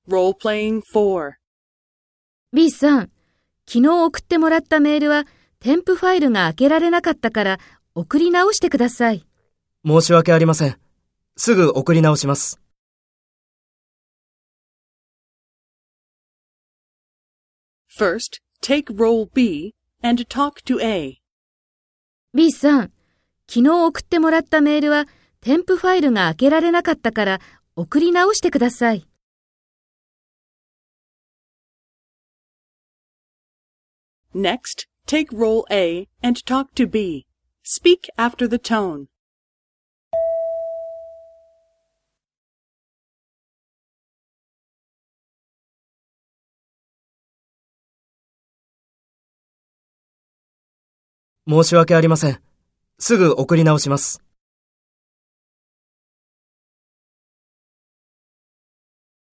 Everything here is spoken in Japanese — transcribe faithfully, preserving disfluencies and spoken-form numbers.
Role-playing four. B さん、昨日送ってもらったメールは添付ファイルが開けられなかったから送り直してください。 申し訳ありません。すぐ送り直します。 First, take role B and talk to A. B さん、昨日送ってもらったメールは添付ファイルが開けられなかったから送り直してください。 Next, take role A and talk to B. Speak after the tone. 申し訳ありません。すぐ送り直します。